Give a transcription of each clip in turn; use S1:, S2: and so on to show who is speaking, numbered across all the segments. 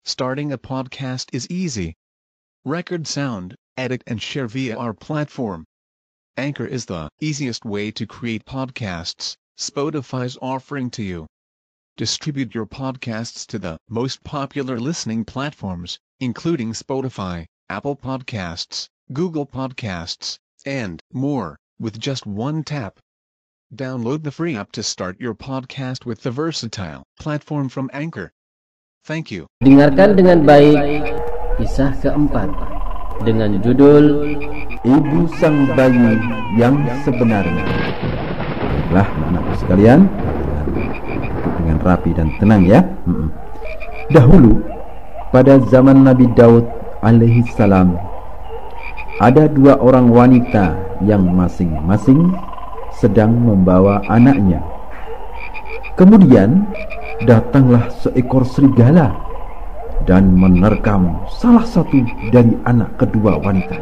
S1: Starting a podcast is easy. Record sound, edit and share via our platform. Anchor is the easiest way to create podcasts. Spotify's offering to you. Distribute your podcasts to the most popular listening platforms, including Spotify, Apple Podcasts, Google Podcasts, and more, with just one tap. Download the free app to start your podcast with the versatile platform from Anchor. Thank you.
S2: Dengarkan dengan baik kisah keempat dengan judul
S3: Ibu Sang Bayi yang Sebenarnya. Baiklah anak-anakku sekalian, dengan rapi dan tenang ya. Dahulu pada zaman Nabi Daud alaihi salam, ada dua orang wanita yang masing-masing sedang membawa anaknya. Kemudian datanglah seekor serigala dan menerkam salah satu dari anak kedua wanita.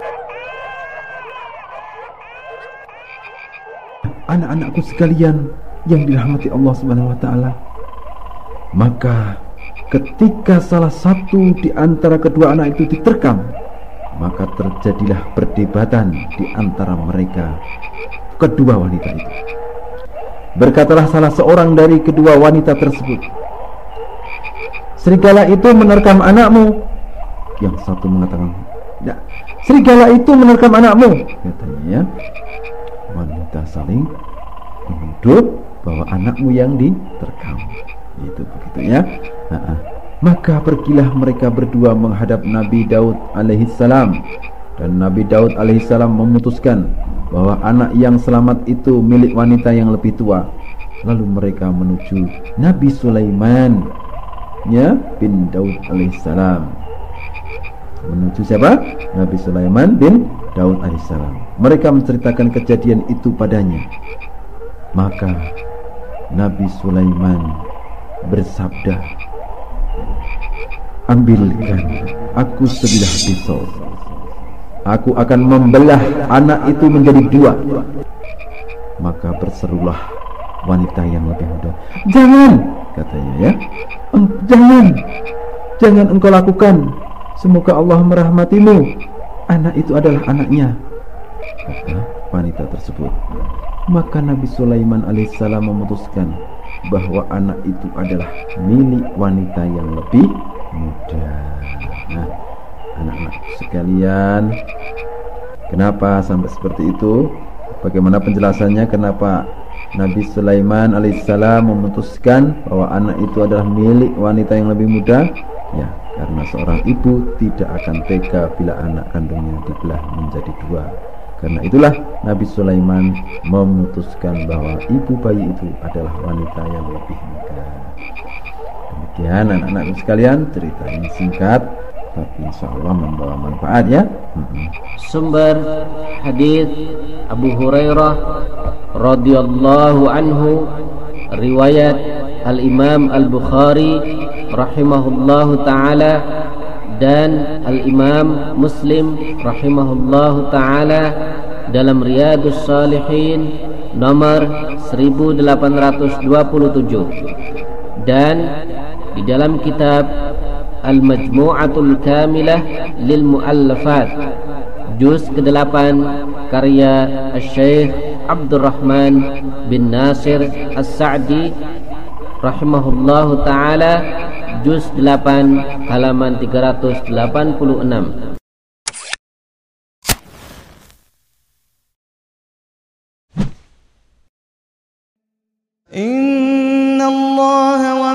S3: Anak-anakku sekalian yang dirahmati Allah Subhanahu wa taala, maka ketika salah satu di antara kedua anak itu diterkam, maka terjadilah perdebatan di antara mereka kedua wanita itu. Berkatalah salah seorang dari kedua wanita tersebut, "Serigala itu menerkam anakmu." Yang satu mengatakan, "Ya, serigala itu menerkam anakmu," katanya ya. Wanita saling menuduh bahwa anakmu yang diterkam. Itu begitu ya. Maka pergilah mereka berdua menghadap Nabi Daud alaihi salam, dan Nabi Daud alaihi salam memutuskan bahwa anak yang selamat itu milik wanita yang lebih tua. Lalu mereka menuju Nabi Sulaiman ya bin Daud alaihissalam. Menuju siapa? Nabi Sulaiman bin Daud alaihissalam. Mereka menceritakan kejadian itu padanya. Maka Nabi Sulaiman bersabda, "Ambilkan aku sebilah pisau. Aku akan membelah anak itu menjadi dua." Maka berserulah wanita yang lebih muda, "Jangan," katanya ya. Jangan engkau lakukan. Semoga Allah merahmatimu. Anak itu adalah anaknya," kata wanita tersebut. Maka Nabi Sulaiman alaihissalam memutuskan bahwa anak itu adalah milik wanita yang lebih muda. Nah, anak-anak sekalian, kenapa sampai seperti itu? Bagaimana penjelasannya kenapa Nabi Sulaiman alaihissalam memutuskan bahwa anak itu adalah milik wanita yang lebih muda? Ya, karena seorang ibu tidak akan tega bila anak kandungnya dibelah menjadi dua. Karena itulah Nabi Sulaiman memutuskan bahwa ibu bayi itu adalah wanita yang lebih muda. Demikian anak-anak sekalian, cerita ini singkat tapi insyaallah membawa manfaat ya.
S2: Sumber hadis Abu Hurairah radhiyallahu anhu, riwayat Al-Imam Al-Bukhari rahimahullahu taala dan Al-Imam Muslim rahimahullahu taala dalam Riyadhus Shalihin nomor 1827, dan di dalam kitab Al-Majmu'atul Kamilah lil Mu'allafat juz ke-8 karya Syekh Abdurrahman bin Nasir As-Sa'di rahimahullahu taala, juz 8 halaman 386.
S4: Inna Allah wa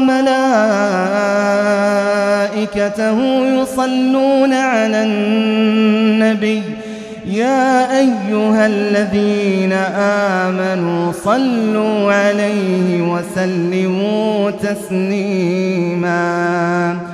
S4: malaikatahu yusalluna 'alan nabiy ya ayyuhalladzina amanu sallu 'alaihi wa sallimu taslima.